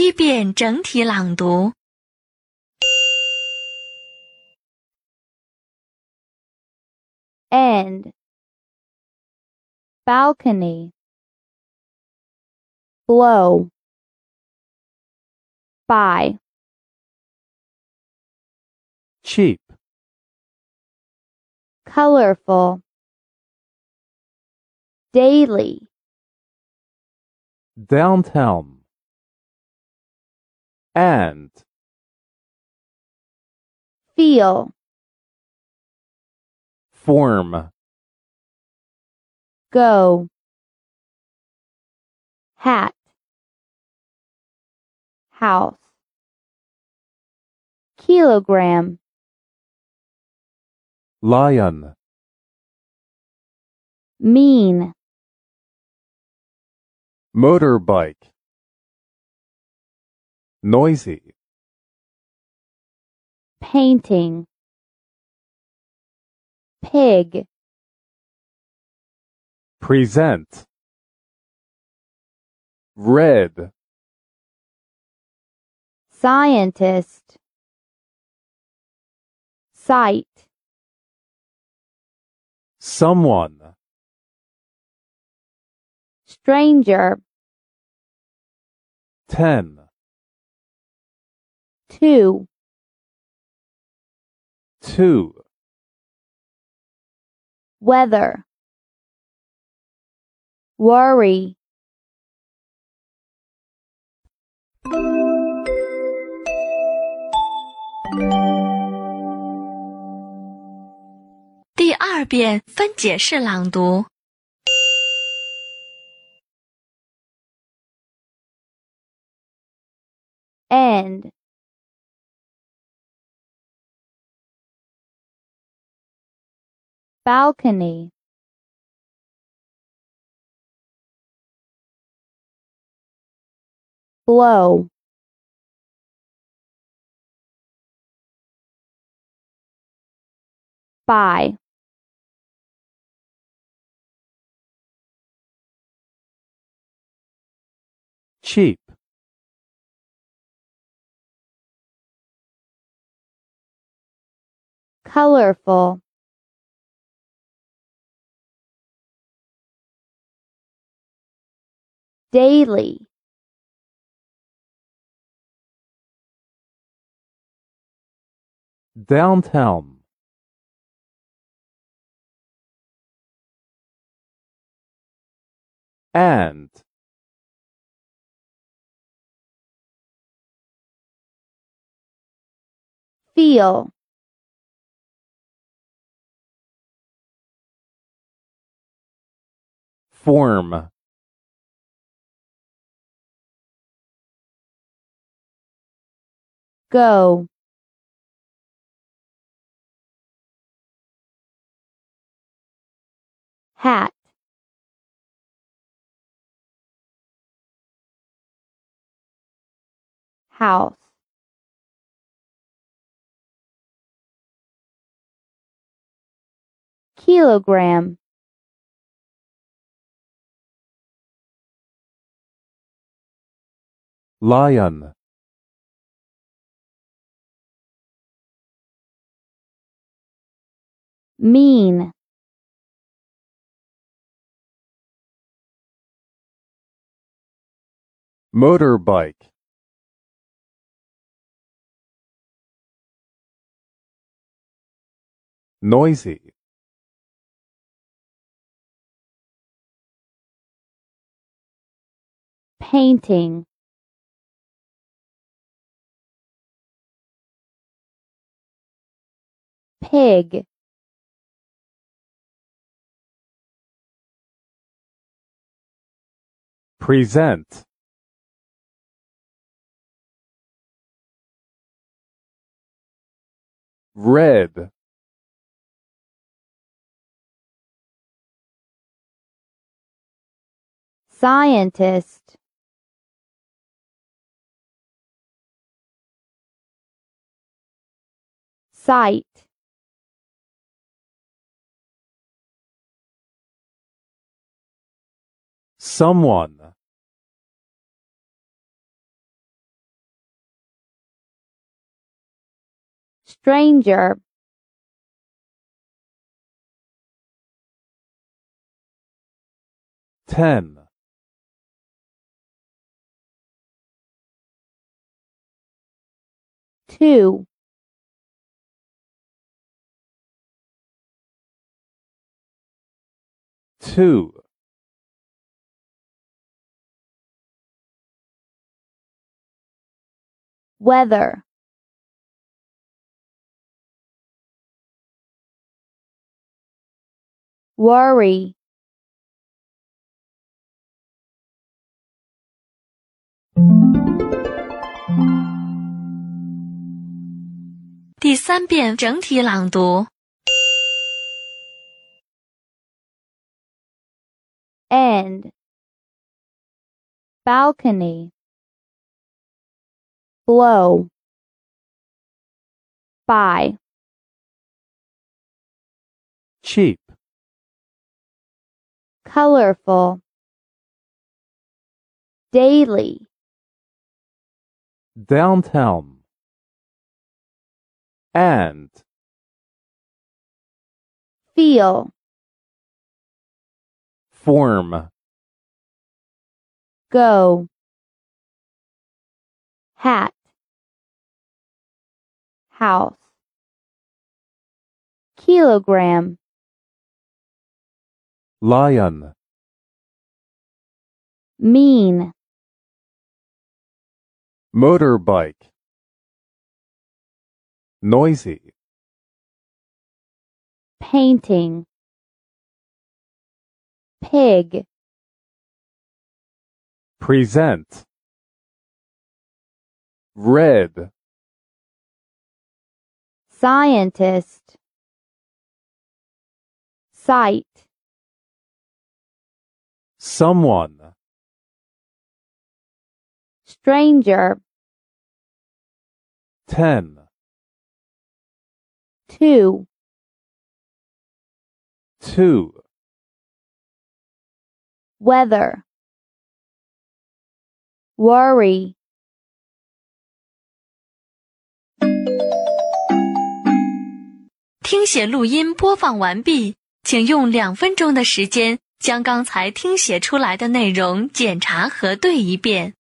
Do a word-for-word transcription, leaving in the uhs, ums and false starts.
一遍整体朗读。 End, balcony, blow, buy, cheap, colorful, daily, downtown, and, feel, form, go, hat, house, kilogram, lion, mean, motorbike, noisy, painting, pig, present, red, scientist, sight, someone, stranger, ten, two, two, weather, worry, 第二遍分解式朗读。 end, balcony, blow, buy, cheap, colorful, daily, downtown, and, feel, form, go, hat, house, kilogram, lion, mean, motorbike, noisy, painting, pig, present, red, scientist, sight, someone, stranger, ten, two, two, weather, worry, 第三遍整体朗读。 end, balcony, blow, buy, cheap, colorful, daily, downtown, and, feel, form, go, hat, house, kilogram, lion, mean, motorbike, noisy, painting, pig, present, red, scientist, sight, someone, stranger, ten, two, two, weather, worry, 听写录音播放完毕，请用两分钟的时间将刚才听写出来的内容检查核对一遍。